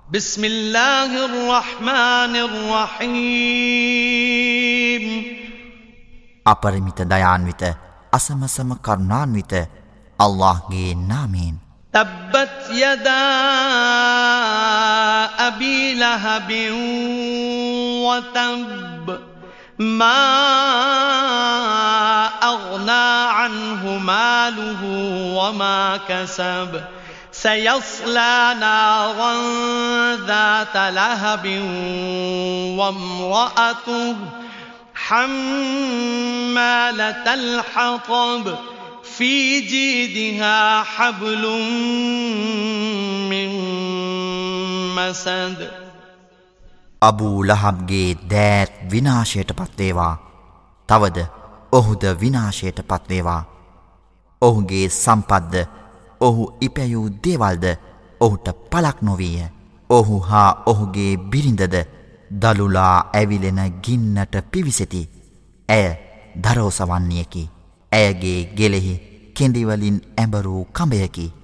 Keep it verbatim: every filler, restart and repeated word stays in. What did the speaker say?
بسم الله الرحمن الرحيم අපරිමිත දයාන්විත අසමසම කරුණාන්විත අල්ලාහ්ගේ නාමයෙන් تبت يدا أبي لهب وتب ما أغنى عنه ماله وما كسب سيصلى نارا ذات لهب وامرأته حمالة الحطب في جيدها حبل من مسد අබූ ලහබ්ගේ දෑත් විනාශයට පත්වේවා. තවද ඔහුද විනාශයට පත්වේවා. ඔහුගේ සම්පත්ද ඔහු ඉපැයූ දේවල්ද ඔහුට පලක් නොවීය. ඔහු හා ඔහුගේ බිරිඳද දළුලා ඇවිලෙන ගින්නට පිවිසෙති. ඇය දරෝසවන්නේකි. ඇයගේ ගෙලෙහි කෙඳිවලින් ඇඹරූ කඹයකි.